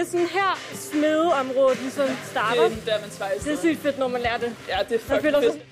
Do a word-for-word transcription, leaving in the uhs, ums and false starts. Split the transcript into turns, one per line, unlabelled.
det sådan her smedeområdet ligesom starter?
Det er der, man svejser.
Det er sygt fedt, når man lærer det.
Ja, det er fucking fedt.